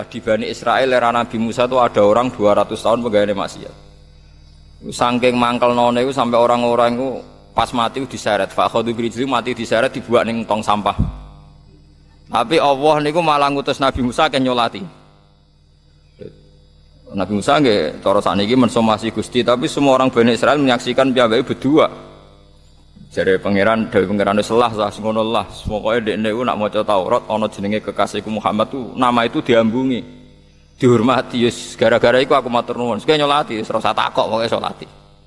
Di Bani Israel era Nabi Musa itu ada orang 200 tahun pegawai maksiat. Saking mangkel none itu sampai orang-orang itu pas mati diseret. Fakhadhu birijli mati diseret dibuat ning tong sampah. Tapi Allah niku malah ngutus Nabi Musa ke nyolati. Nabi Musa nggih cara sakniki mensomasi Gusti, tapi semua orang Bani Israel menyaksikan piyambake berdua. Jare pangeran dewe pangeran selah sah ngono lah. Pokoke dekne ku nak maca Taurat ana jenenge kekasihku Muhammad tu nama itu diambungi. Dihormati wis gara-gara iku aku matur nuwun. Sing nyolati wis ora usah takok pokoke salati.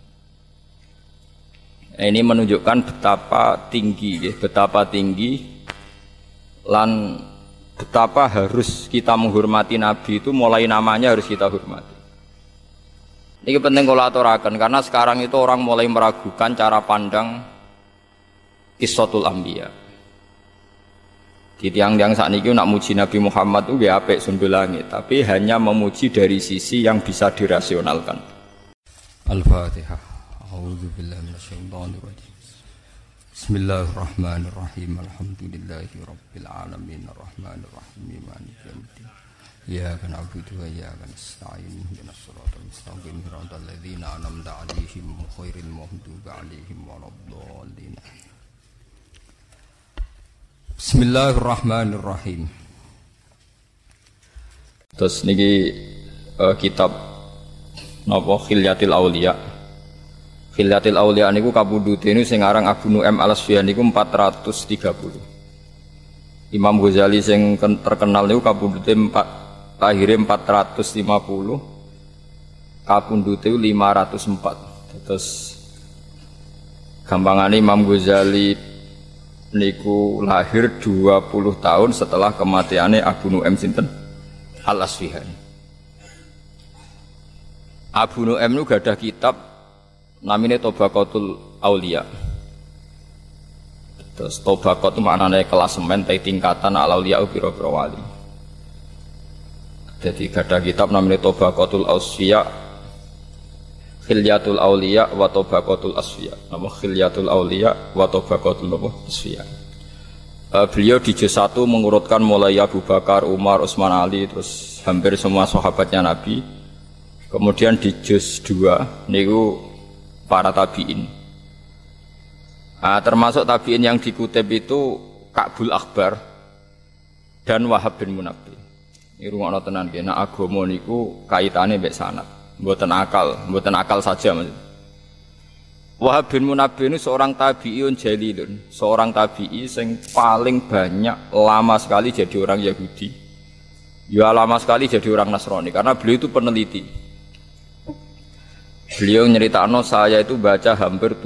Ini menunjukkan betapa tinggi lan betapa harus kita menghormati Nabi itu mulai namanya harus kita hormati. Ini penting kalau aturakan karena sekarang itu orang mulai meragukan cara pandang Qissatul Anbiya. Di tiang-tiang saat ini nak muji Nabi Muhammad itu gak apik sundul langit, tapi hanya memuji dari sisi yang bisa dirasionalkan. Al-Fatihah. A'udzubillahi minasyaitonir rajim. Bismillahirrahmanirrahim. Alhamdulillahirabbil alamin arrahmanir rahim maliki yaumiddin. Iyyaka na'budu wa iyyaka nasta'in ihdinas siratal mustaqim siratal ladzina an'amta 'alaihim ghairil maghdubi 'alaihim waladdallin. Bismillahirrahmanirrahim. Terus niki kitab napa Khilyatil Auliya. Khilyatil Auliya niku kabudute niku sing aran Abu Nu'aim Al-Asfihani niku 430. Imam Ghazali sing terkenal niku kabudute lahire 450, kabudute 504. Terus gampangane Imam Ghazali niku lahir 20 tahun setelah kematiannya Abu Nu'aim sinten Al-Asfihani. Abu Nu'aim itu gadah kitab namanya Tabaqatul Auliya. Terus Tabaqat itu maknanya klasemen tingkatan al-auliya pira-pira wali. Jadi gadah kitab namanya Tabaqatul Asfiya, Khilyatul Auliya wa Tabaqatul Asfiya. Nama Khilyatul Auliya wa Tabaqatul Asfiya. Beliau di juz 1 mengurutkan mulai Abu Bakar, Umar, Utsman, Ali, terus hampir semua sahabatnya Nabi. Kemudian di juz 2 niku para tabi'in. Termasuk tabi'in yang dikutip itu Ka'bul Akhbar dan Wahab bin Munabbih. Ini rungokno tenan nggih, nek agama niku kaitane mbek sanad. Mboten akal saja maksudnya. Wahab bin Munabbih ini seorang tabi'iyun jalilun, seorang tabi'i yang paling banyak lama sekali jadi orang Yahudi. Ya lama sekali jadi orang Nasrani karena beliau itu peneliti. Beliau nyeritakno saya itu baca hampir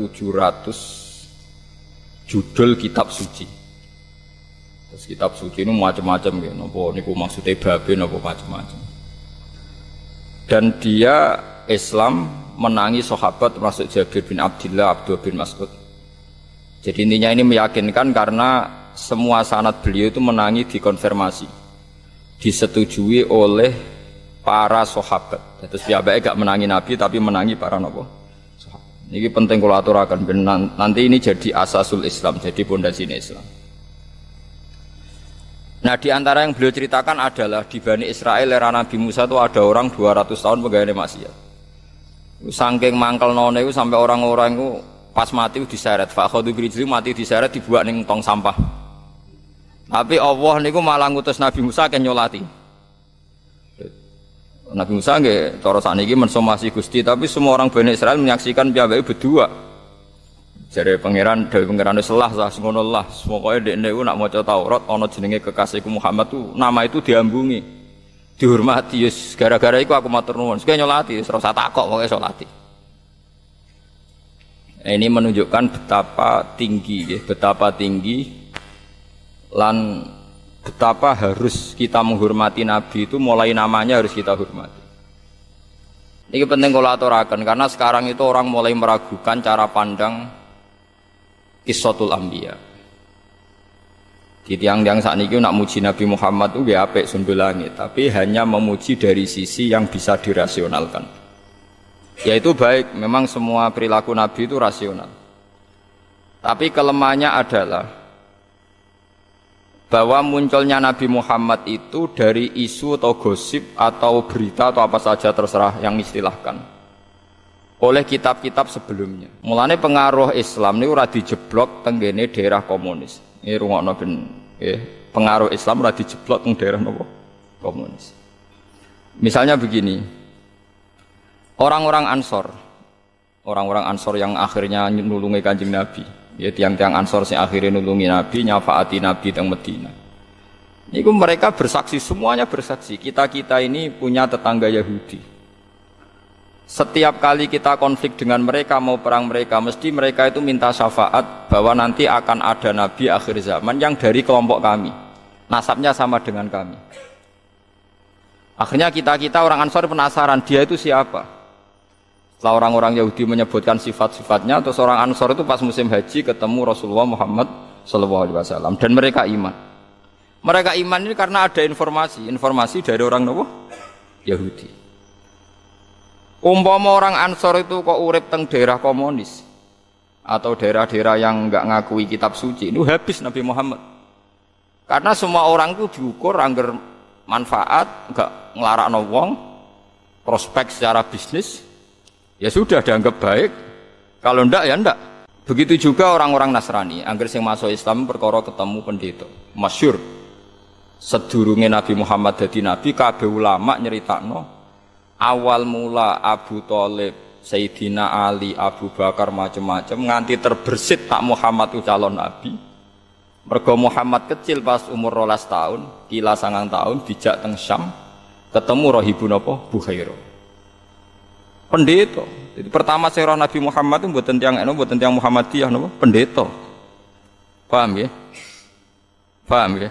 700 judul kitab suci. Terus kitab suci ini macam-macam ya, napa niku maksude babe napa macam-macam. Dan dia Islam menangi sahabat termasuk Jabir bin Abdullah, Abdullah bin Mas'ud. Jadi intinya ini meyakinkan karena semua sanad beliau itu menangi dikonfirmasi, disetujui oleh para sahabat. Terus piyambake gak menangi Nabi tapi menangi para sahabat. Ini penting kalau aturakan nanti ini jadi asasul Islam, jadi pondasinya Islam. Nah di antara yang beliau ceritakan adalah di Bani Israel era Nabi Musa itu ada orang 200 tahun pegawai maksiat. Saking mangkel none itu sampai orang-orang itu pas mati diseret. Fakhadhu birijli mati diseret dibuat ning tong sampah. Tapi Allah niku malah ngutus Nabi Musa ke nyolati. Nabi Musa nggih cara sakniki mensomasi Gusti, tapi semua orang Bani Israel menyaksikan piyambake berdua. Jare pangeran dewe pangeran selah sah ngono lah. Pokoke dekne ku nak maca Taurat ana jenenge kekasihku Muhammad tu nama itu diambungi. Dihormati wis gara-gara iku aku matur nuwun. Sing nyolati wis ora usah takok pokoke salati. Ini menunjukkan betapa tinggi lan betapa harus kita menghormati Nabi itu mulai namanya harus kita hormati. Ini penting kalau aturakan karena sekarang itu orang mulai meragukan cara pandang Qissatul Anbiya. Di tiang-tiang saat ini nak muji Nabi Muhammad itu gak apik sundul langit, tapi hanya memuji dari sisi yang bisa dirasionalkan. Yaitu baik, memang semua perilaku Nabi itu rasional. Tapi kelemahannya adalah bahwa munculnya Nabi Muhammad itu dari isu atau gosip atau berita atau apa saja terserah yang istilahkan oleh kitab-kitab sebelumnya. Mulane pengaruh Islam ini ora dijeblok tenggene daerah komunis. Ini rungokno ben pengaruh Islam ora dijeblok teng daerah nopo komunis. Misalnya begini, orang-orang Ansor yang akhirnya nulungi Kanjeng Nabi, ya tiang-tiang Ansor yang akhirnya nulungi Nabi, nyafaati Nabi teng Madinah. Niku mereka bersaksi, semuanya bersaksi. Kita ini punya tetangga Yahudi. Setiap kali kita konflik dengan mereka, mau perang mereka, mesti mereka itu minta syafaat bahwa nanti akan ada Nabi akhir zaman yang dari kelompok kami, nasabnya sama dengan kami. Akhirnya kita orang Ansor penasaran, dia itu siapa? Setelah orang-orang Yahudi menyebutkan sifat-sifatnya, terus orang Ansor itu pas musim haji ketemu Rasulullah Muhammad SAW dan mereka iman. Mereka iman ini karena ada informasi dari orang Yahudi. Umpama orang Ansor itu kok urip teng daerah komunis atau daerah-daerah yang enggak ngakui kitab suci, itu habis Nabi Muhammad. Karena semua orang itu diukur angger manfaat, enggak nglarakno wong, prospek secara bisnis. Ya sudah dianggap baik, kalau ndak ya ndak. Begitu juga orang-orang Nasrani, angger sing masuk Islam perkara ketemu pendeta. Masyhur sedurunge Nabi Muhammad dadi nabi, kabeh ulama nyeritakno awal mula Abu Thalib, Sayyidina Ali, Abu Bakar macam-macam nganti terbersit tak Muhammad itu calon nabi. Mergo Muhammad kecil pas umur 12 tahun, kila 9 tahun dijak teng Syam, ketemu rahibun apa? Bukhairah. Pendeta. Jadi pertama saya Nabi Muhammad itu mboten tiyang Muhammadiyah napa? Pendeta. Paham ya? Paham ya?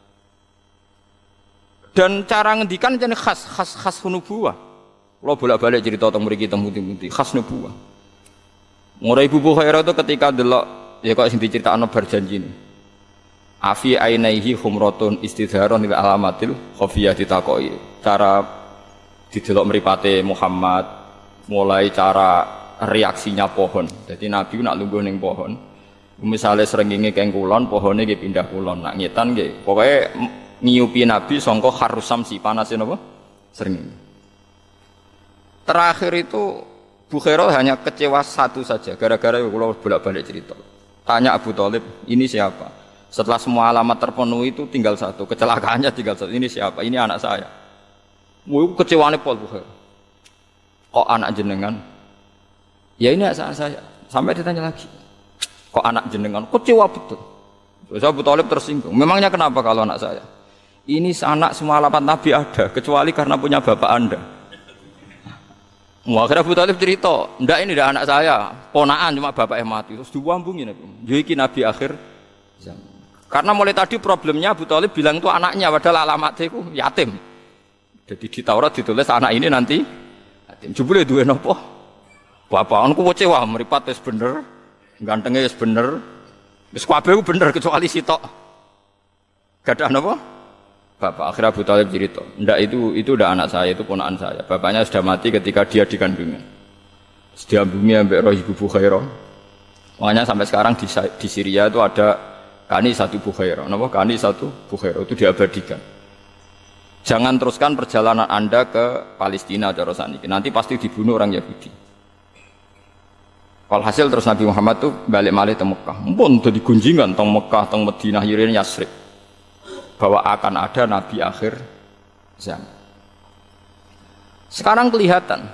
Dan cara ngendikan jane khas nubuwah. Kula bolak-balik cerita teng mriki teng pundi-pundi khas nubuwah. Mulai Ibu Bukhairah itu ketika delok ya kok sing diceritakno bar janjine. Afi ainaihi humratun istidharon ila alamatil khafiyah ditakoki. Cara didelok mripate Muhammad, mulai cara reaksinya pohon. Jadi Nabi nak lungguh ning pohon. Misalnya srengenge keng kulon, pohone nggih pindah kulon. Nak ngetan nggih pokoke ngiyupi Nabi sangka kharusam si panase napa? Srengenge. Terakhir itu Bukhairah hanya kecewa satu saja gara-gara kula bolak-balik cerita. Tanya Abu Thalib, ini siapa? Setelah semua alamat terpenuhi itu tinggal satu, kecelakaannya tinggal satu. Ini siapa? Ini anak saya. Wah, kecewane Paul Bukhairah. Kok anak jenengan? Ya ini anak saya. Sampai ditanya lagi. Kok anak jenengan? Kecewa betul. Terus Abu Thalib tersinggung. Memangnya kenapa kalau anak saya? Ini anak semua alamat Nabi ada, kecuali karena punya bapak Anda. Akhirnya Abu Thalib cerita, ndak ini ndak anak saya, ponaan cuma bapaknya mati. Terus diwambungi Nabi. Jadi Nabi akhir zaman. Karena mulai tadi problemnya Abu Thalib bilang itu anaknya, padahal alamatnya itu yatim. Jadi di Taurat ditulis anak ini nanti yatim. Jebule duwe napa? Bapakanku kecewa, mripat wis bener, gantenge wis bener. Wis kabeh bener kecuali sitok. Gadah napa? Bapak. Akhirnya Abu Thalib cerita, ndak itu udah anak saya, itu ponakan saya. Bapaknya sudah mati ketika dia di kandungan. Diambungi ambek roh Ibu Bukhairah. Makanya sampai sekarang di Syria itu ada Kani satu Bukhairah. Napa? Kani satu Bukhairah itu diabadikan. Jangan teruskan perjalanan Anda ke Palestina cara saniki. Nanti pasti dibunuh orang Yahudi. Walhasil terus Nabi Muhammad tuh balik malih ke Mekah. Mumpun dadi gunjingan teng Mekah, teng Madinah, Yirin Yasrib. Bahwa akan ada Nabi akhir zaman. Sekarang kelihatan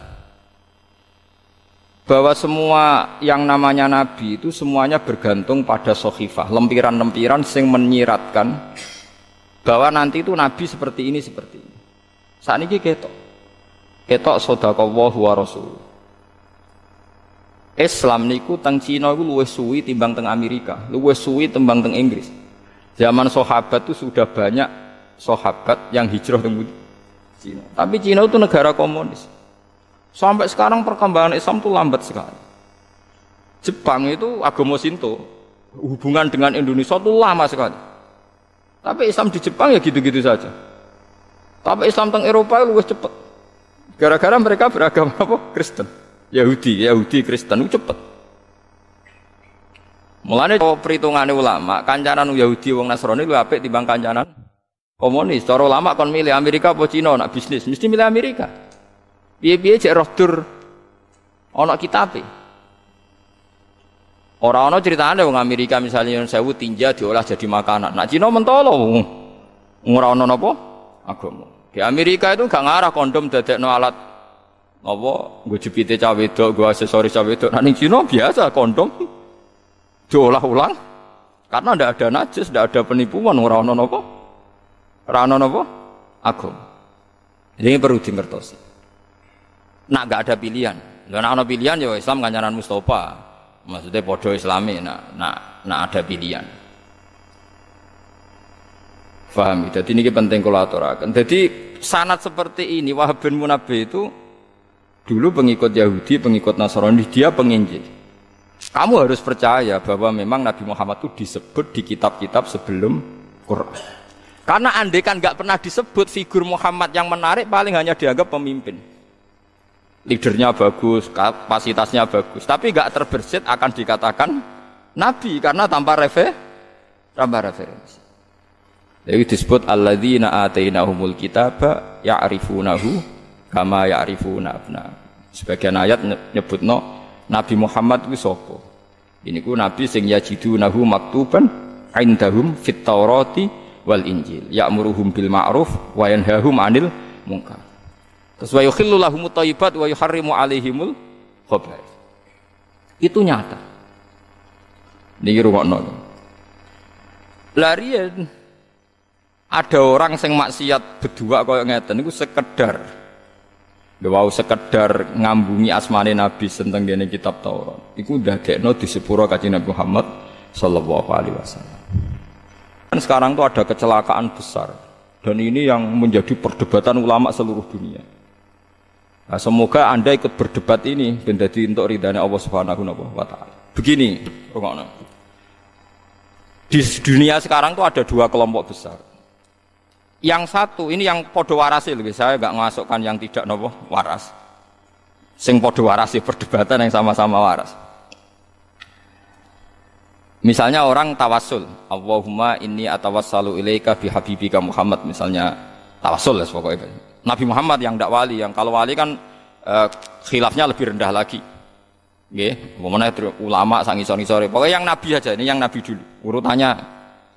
bahwa semua yang namanya Nabi itu semuanya bergantung pada sohifah, lempiran-lempiran yang menyiratkan bahwa nanti itu Nabi seperti ini. Saat ini ketok sodaqallahu wa rasul. Islam niku teng Cina iku luwih suwi timbang teng Amerika, luwih suwi timbang teng Inggris. Zaman sahabat itu sudah banyak sahabat yang hijrah ke Cina. Tapi Cina itu negara komunis. Sampai sekarang perkembangan Islam itu lambat sekali. Jepang itu agama Shinto, hubungan dengan Indonesia itu lama sekali. Tapi Islam di Jepang ya gitu-gitu saja. Tapi Islam teng Eropa itu lebih cepat. Gara-gara mereka beragama apa? Kristen. Yahudi Kristen itu cepat. Mulane perhitungane ulama, kancanan Yahudi wong Nasrani luwih apik timbang kancanan komunis. Cara ulama kon milih Amerika apa Cina nak bisnis, mesti milih Amerika. Piye-piye cek roh dur ana kitabe. Ora ana critane wong Amerika misalnya sewu tinja diolah jadi makanan. Nak Cina mentolo ora ana napa agama. Di Amerika itu gak ngarah kondom dadekno alat apa nggo jepite cah wedok, nggo aksesoris cah wedok. Nah ning Cina biasa kondom diolah ulang karena ndak ada najis, ndak ada penipuan, ora ana napa? Ora ana napa? Agama. Ini perlu dimengertosi. Nak gak ada pilihan. Lha nek ana pilihan ya Islam kancanan Mustafa. Maksudnya padha Islami nak ada pilihan. Paham? Jadi ini penting kula aturaken. Jadi sanad seperti ini Wahab bin Munabbih itu dulu pengikut Yahudi, pengikut Nasrani, dia penginjil. Kamu harus percaya bahwa memang Nabi Muhammad itu disebut di kitab-kitab sebelum Quran. Karena andai kan nggak pernah disebut figur Muhammad yang menarik, paling hanya dianggap pemimpin. Leadernya bagus, kapasitasnya bagus, tapi nggak terbersit akan dikatakan Nabi karena tanpa referensi. Jadi disebut alladzina atainahumul kitaba ya'rifunahu kama ya'rifuna abna. Sebagian ayat nyebutno Nabi Muhammad itu sapa? Ini ku Nabi sing yajidunahu maktuban indahum fit Taurati wal Injil, ya'muruhum bil ma'ruf wa yanhahum 'anil munkar. Terus wa yukhillu lahumut thayyibat wa yuharrimu 'alaihimul khaba'ith. Itu nyata. Niki rungokno. Larian ada orang sing maksiat berdua kaya ngeten niku sekedar wow, sekedar ngambungi asmane Nabi tentang dene kitab Taurat. Iku ndadekno di sepuro Kanjeng Nabi Muhammad sallallahu alaihi wasallam. Dan sekarang tuh ada kecelakaan besar dan ini yang menjadi perdebatan ulama seluruh dunia. Nah, semoga Anda ikut berdebat ini ben dadi entuk ridane Allah Subhanahu wa taala. Begini, rungokno. Di dunia sekarang tuh ada dua kelompok besar. Yang satu ini yang podo warasi lebih, saya nggak masukkan yang tidak nopo waras. Sing podo warasi perdebatan yang sama-sama waras. Misalnya orang tawassul, Allahumma inni atawassalu ilaika bi habibika Muhammad, misalnya tawassul ya pokoknya. Nabi Muhammad yang tidak wali, yang kalau wali kan khilafnya lebih rendah lagi. Nggih, umpamane ulama sang isor-isore. Pokoknya yang nabi aja, ini yang nabi dulu. Urutannya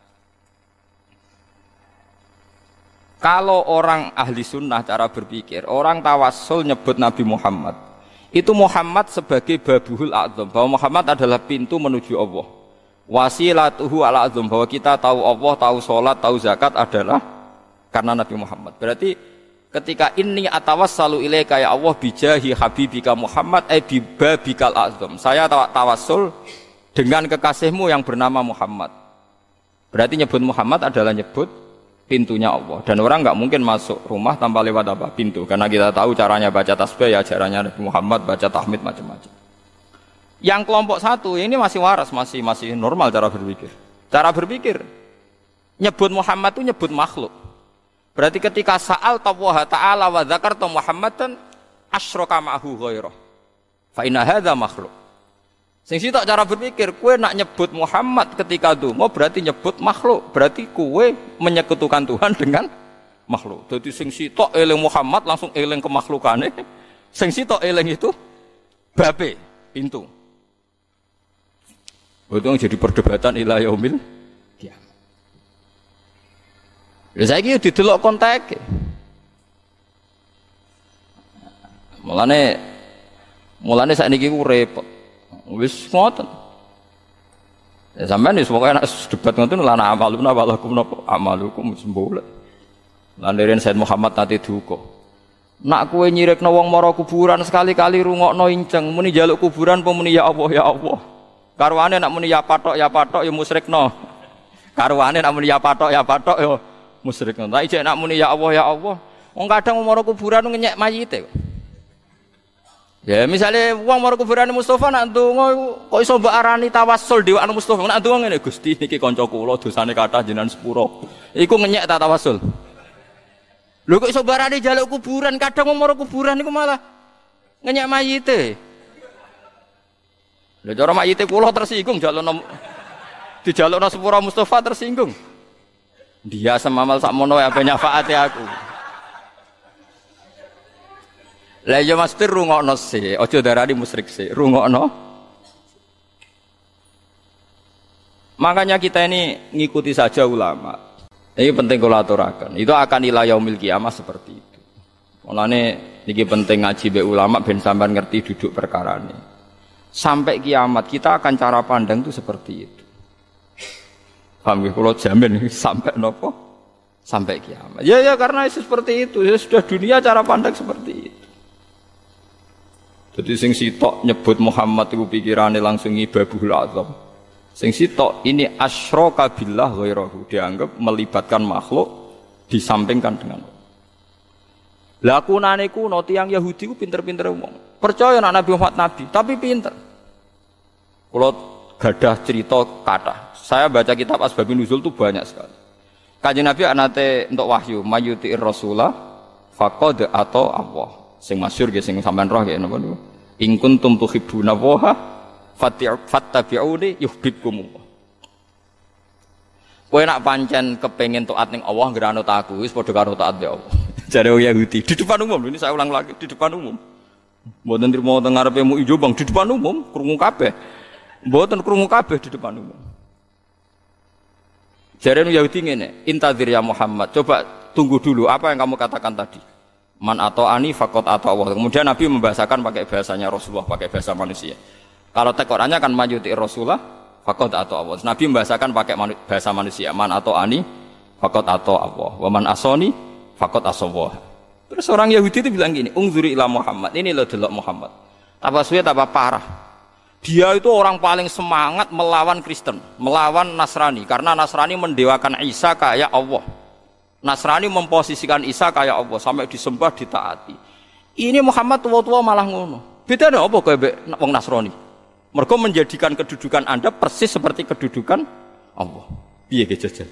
kalau orang ahli sunnah cara berpikir, orang tawassul nyebut Nabi Muhammad, itu Muhammad sebagai babuhul a'zam, bahwa Muhammad adalah pintu menuju Allah. Wasilatuhu ala a'zam, bahwa kita tahu Allah, tahu sholat, tahu zakat adalah karena Nabi Muhammad. Berarti ketika inni atawassalu ilaika ya Allah bijahi habibika Muhammad bibabikal a'zam. Saya tawassul dengan kekasihmu yang bernama Muhammad. Berarti nyebut Muhammad adalah nyebut pintunya Allah, dan orang nggak mungkin masuk rumah tanpa lewat apa pintu, karena kita tahu caranya baca tasbih ya caranya Nabi Muhammad, baca tahmid macam-macam. Yang kelompok satu ini masih waras, masih normal cara berpikir. Cara berpikir nyebut Muhammad itu nyebut makhluk. Berarti ketika sa'al Allah Ta'ala wa dzakarta Muhammadan asyraka ma'hu ghairah. Fa inna hadza makhluk. Sing sitok cara berpikir, kue nak nyebut Muhammad ketika donga berarti nyebut makhluk, berarti kue menyekutukan Tuhan dengan makhluk. Jadi sing sitok eling Muhammad langsung eling kemakhlukane. Sing sitok eling itu babe, pintu. Itu jadi perdebatan ila yaumil qiyamah. Lha saiki didelok konteke. Mulane sakniki ku repot. Wis ngoten. Ya sampean wis pokoke nek debat ngoten lana amaluna walakum napa amalukum sembulet. Lan deren Said Muhammad nate duka. Nak kowe nyirikno wong mara kuburan sekali-kali rungokno inceng muni njaluk kuburan apa muni ya Allah ya Allah. Karwane nak muni ya patok ya musyrikno. Karwane nak muni ya patok ya musyrikno. Tapi jek nak muni ya Allah. Wong kadang mara kuburan ngenyek mayite kok. Ya misalnya wong mara kuburane Mustofa nak ndonga kok iso mbok arani tawassul dhewekan Mustofa nak ndonga ngene Gusti niki kanca kula dosane kathah jenengan sepuro. Iku ngenyek ta tawassul. Lho kok iso barani njaluk kuburan kadang wong mara kuburan niku malah ngenyek mayite. Lho cara mayite kula tersinggung njaluk Dijalukno sepura Mustafa tersinggung. Dia semamal sakmono apa nyafaati aku. Lah ya mesti rungokno sih, aja darani musyrik sih, rungokno. Makanya kita ini ngikuti saja ulama. Ini penting kalau aturakan. Itu akan ila yaumil kiamah seperti itu. Mulane niki penting ngaji be ulama ben sampean ngerti duduk perkara ini. Sampai kiamat kita akan cara pandang itu seperti itu. Paham nggih kula jamin sampai nopo? Sampai kiamat. Ya karena seperti itu. Ya sudah dunia cara pandang seperti itu. Jadi sing sitok nyebut Muhammad itu pikirannya langsung ibabul azam. Sing sitok ini asyraka billah ghairahu, dianggap melibatkan makhluk disampingkan dengan Allah. Lah kunane kuno tiyang Yahudi ku pinter-pinter wong. Percaya nek Nabi Muhammad nabi, tapi pinter. Kula gadah cerita kathah. Saya baca kitab Asbabun Nuzul itu banyak sekali. Kanjeng Nabi anate untuk wahyu, mayuti'ir rasulah faqad atau Allah. Sing masyhur nggih sing sampean roh nggih napa niku. In kuntum tuhibbuna Allaha fattabi'uni yuhibbukumullah. Kowe nak pancen kepengin taat ning Allah ngeranut aku wis padha karo taat be Allah. Jare Yahudi di depan umum, ini saya ulang lagi di depan umum. Mboten trimo teng ngarepe mu ijo Bang di depan umum, krungu kabeh. Mboten krungu kabeh di depan umum. Jare Yahudi ngene, intadzir ya Muhammad, coba tunggu dulu apa yang kamu katakan tadi. Man atau ani fakot atau Allah. Kemudian Nabi membahasakan pakai bahasanya Rasulullah, pakai bahasa manusia. Kalau tekorannya kan majuti Rasulullah fakot atau Allah. Nabi membahasakan pakai bahasa manusia. Man atau ani fakot atau Allah. Waman asoni fakot asallah. Terus orang Yahudi itu bilang gini, ungzuri ila Muhammad. Ini lo delok Muhammad. Tambah suwe tambah parah. Dia itu orang paling semangat melawan Kristen, melawan Nasrani. Karena Nasrani mendewakan Isa kayak Allah. Nasrani memposisikan Isa kayak Allah sampai disembah ditaati. Ini Muhammad tua-tua malah ngono. Bedane apa kowe wong Nasrani? Mergo menjadikan kedudukan Anda persis seperti kedudukan Allah. Piye ge jajal?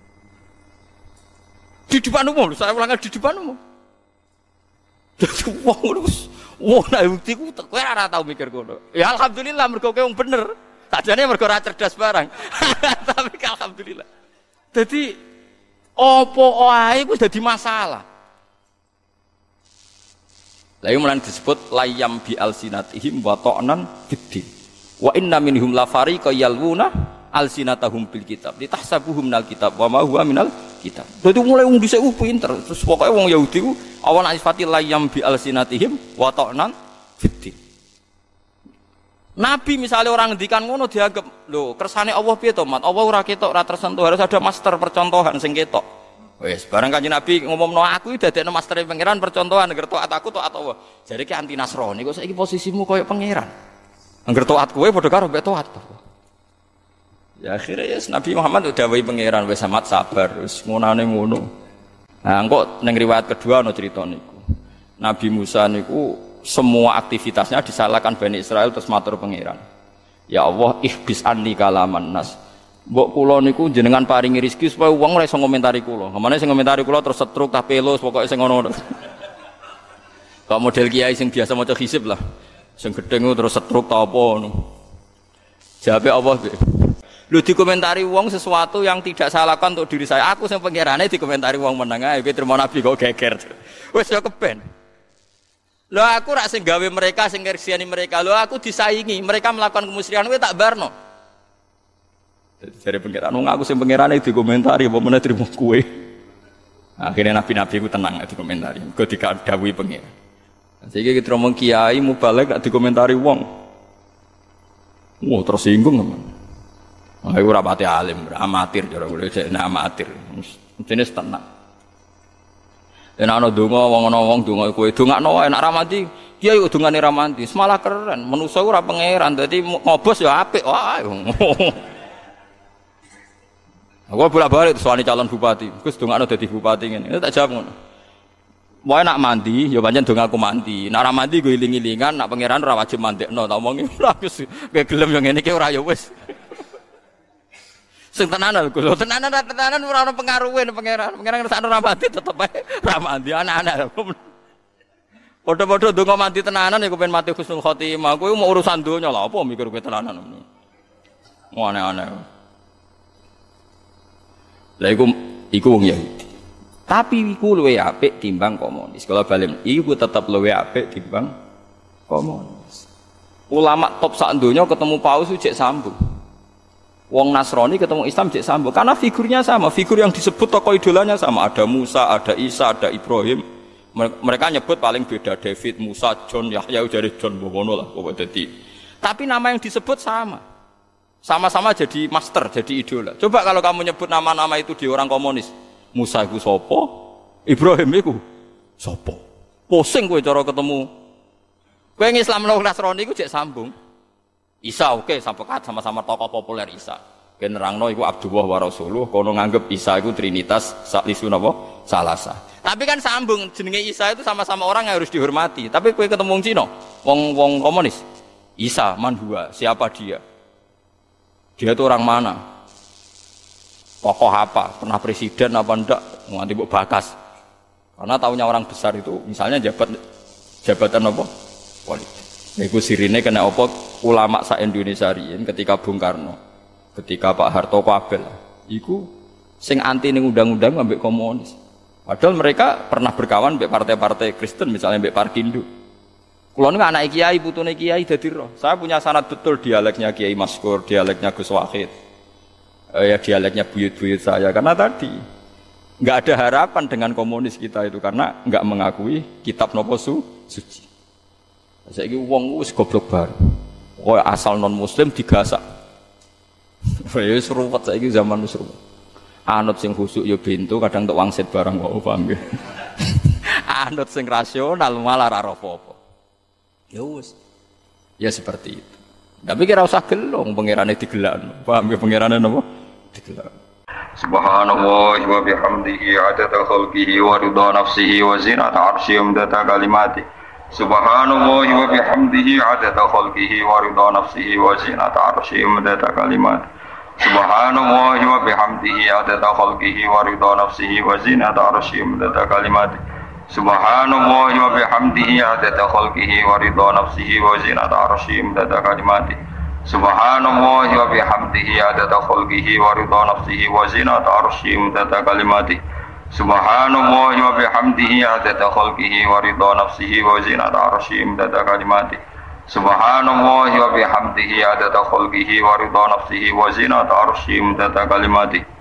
Di depan umum, saya ulangi di depan umum. Jadi wong nek bukti ku kowe ora tau mikir ngono. Ya alhamdulillah mergo kowe wong bener. Sajane mergo ora cerdas barang. Tapi alhamdulillah. Jadi opo ae ku dadi masalah. Lalu mulai disebut layam bi alsinatihim wa ta'nan fiddin. Wa inna minhum la fariqa yalwuna alsinatahum bil kitab. Litahsabuhum minal kitab wa ma huwa minal kitab. Dadi mulai wong dhisik pinter. Terus pokoke wong Yahudi ku awan asifati layam bi alsinatihim wa ta'nan fiddin. Nabi misalnya orang ngendikan ngono dianggap, lho kersane Allah piye to, Mat? Allah ora ketok, ora tersentuh, harus ada master percontohan sing ketok. Wes barang Kanjeng Nabi ngomongno aku dadekno mastere pangeran percontohan ngerti taat aku taat Allah. Jadi ki anti Nasrani kok saiki posisimu koyo pangeran. Angger taat kowe padha karo mbek taat. Ya akhirnya ya Nabi Muhammad udah wae pangeran wis amat sabar wis ngonane ngono. Nah engko ning riwayat kedua ana crita niku. Nabi Musa niku semua aktivitasnya disalahkan Bani Israel terus matur pangeran. Ya Allah ihbis anni kalaman nas. Mbok kula niku jenengan paringi rezeki supaya wong ora iso ngomentari kula. Kemana sing ngomentari kula terus setruk tah pelus pokoke sing ngono. Kok model kiai sing biasa maca hisib lah. Sing gedeng terus setruk ta apa ngono. Jawabe Allah. Lho dikomentari wong sesuatu yang tidak saya lakukan untuk diri saya. Aku sing pangerane dikomentari wong meneng ae kowe trimo nabi kok geger. Wis yo keben. Lho aku rak sing gawe mereka sing ngersiani mereka. Lho aku disaingi, mereka melakukan kemusyrikan kowe tak barno. Dari pengiran, aku sing pengiran itu dikomentari, apa mana terima kue. Akhirnya nabi-nabi itu tenang dikomentari, gue dikadawi pengiran. Sehingga kita ngomong kiai mau balik gak dikomentari wong. Wah tersinggung teman. Aku rapati alim, amatir, cara gue jadi amatir. Jenis tenang. Dan anak dongo, wong dongo kue donga no enak ramadi. Kiai dongane ramadi, semalah keren. Manusia ora pengiran, jadi ngobos ya apik. Wah. Aku bolak-balik soalnya calon bupati. Gus dongakno dadi bupati ngene. Tak jawab ngono. Wae nak mandi, ya pancen dong aku mandi. Nak ora mandi go iling-ilingan, nak pangeran ora wajib mandekno. Tak omongi ora Gus. Kowe gelem yo ngene iki ora ya wis. Sing tenanan Gus. Tenanan ora ono pengaruhe nang pangeran. Pangeran ngersakno ora mandi tetep ae ora mandi anak-anak. Padha-padha donga mandi tenanan ya kepen mati husnul khotimah. Kowe mau urusan donya lha apa mikir kowe tenanan. Aneh-aneh. Lah iku wong Yahudi. Tapi iku luwih apik timbang komunis. Kalau balen iku tetep luwih apik timbang komunis. Ulama top sak donya ketemu Paus cek sambung. Wong Nasrani ketemu Islam cek sambung karena figurnya sama, figur yang disebut tokoh idolanya sama. Ada Musa, ada Isa, ada Ibrahim. Mereka nyebut paling beda David, Musa, John, Yahya dari John Bowono lah pokoknya. Tapi nama yang disebut sama. Sama-sama jadi master, jadi idola. Coba kalau kamu nyebut nama-nama itu di orang komunis. Musa iku sapa? Ibrahim iku sapa? Pusing kowe cara ketemu. Kowe Islam lan Nasrani iku cek sambung. Isa oke, sama-sama tokoh populer Isa. Ken nerangno iku Abdullah wa Rasuluh, kono nganggep Isa iku trinitas saklisu napa? Salasa. Tapi kan sambung jenenge Isa itu sama-sama orang yang harus dihormati. Tapi kowe ketemu wong Cina, wong komunis. Isa man huwa, siapa dia? Dia itu orang mana? Tokoh apa? Pernah presiden apa ndak? Nganti mbok bakas. Karena tahunya orang besar itu misalnya jabatan apa? Politik. Iku sirine kena apa ulama sak Indonesia riyen ketika Bung Karno, ketika Pak Harto kabel. Iku sing anti ning undang-undang ambek komunis. Padahal mereka pernah berkawan ambek partai-partai Kristen misalnya ambek Parkindo. Kulo niku anak kiai, putune kiai dadi roh. Saya punya sanad betul dialeknya Kiai Maskur, dialeknya Gus Wahid. Ya dialeknya buyut-buyut saya karena tadi nggak ada harapan dengan komunis kita itu karena nggak mengakui kitab nopo suci. Saiki wong wis goblok bar. Kowe asal non muslim digasak. Ya seruwet saiki zaman wis seruwet. Anut sing khusuk ya bento kadang tok wangsit barang kok paham ya. Anut sing rasional malah ora apa-apa. Ya wis. Ya seperti itu. Tapi kira usah gelong pangerane digelakno. Paham ya pangerane napa? Subhanallah wa bihamdihi adada khalqihi wa ridha nafsihi wa zinata arsyihi wa midada kalimatihi. Subhanallah wa bihamdihi adada khalqihi wa ridha nafsihi wa zinata arsyihi wa midada kalimatihi. Subhanallah wa bihamdihi adada khalqihi wa ridha nafsihi wa zinata arsyihi wa midada kalimatihi. Subhanallah wa bihamdihi adada khalqihi wa ridha nafsihi wa zinata arsyihi wa midada kalimatihi. Subhanallah wa bihamdihi adada khalqihi wa ridha nafsihi wa zinata arsyihi wa midada kalimatihi. Subhanallah wa bihamdihi adada khalqihi wa ridha nafsihi wa zinata arsyihi wa midada kalimatihi. Subhanallah wa bihamdihi adada khalqihi wa ridha nafsihi wa zinata arsyihi wa midada kalimatihi.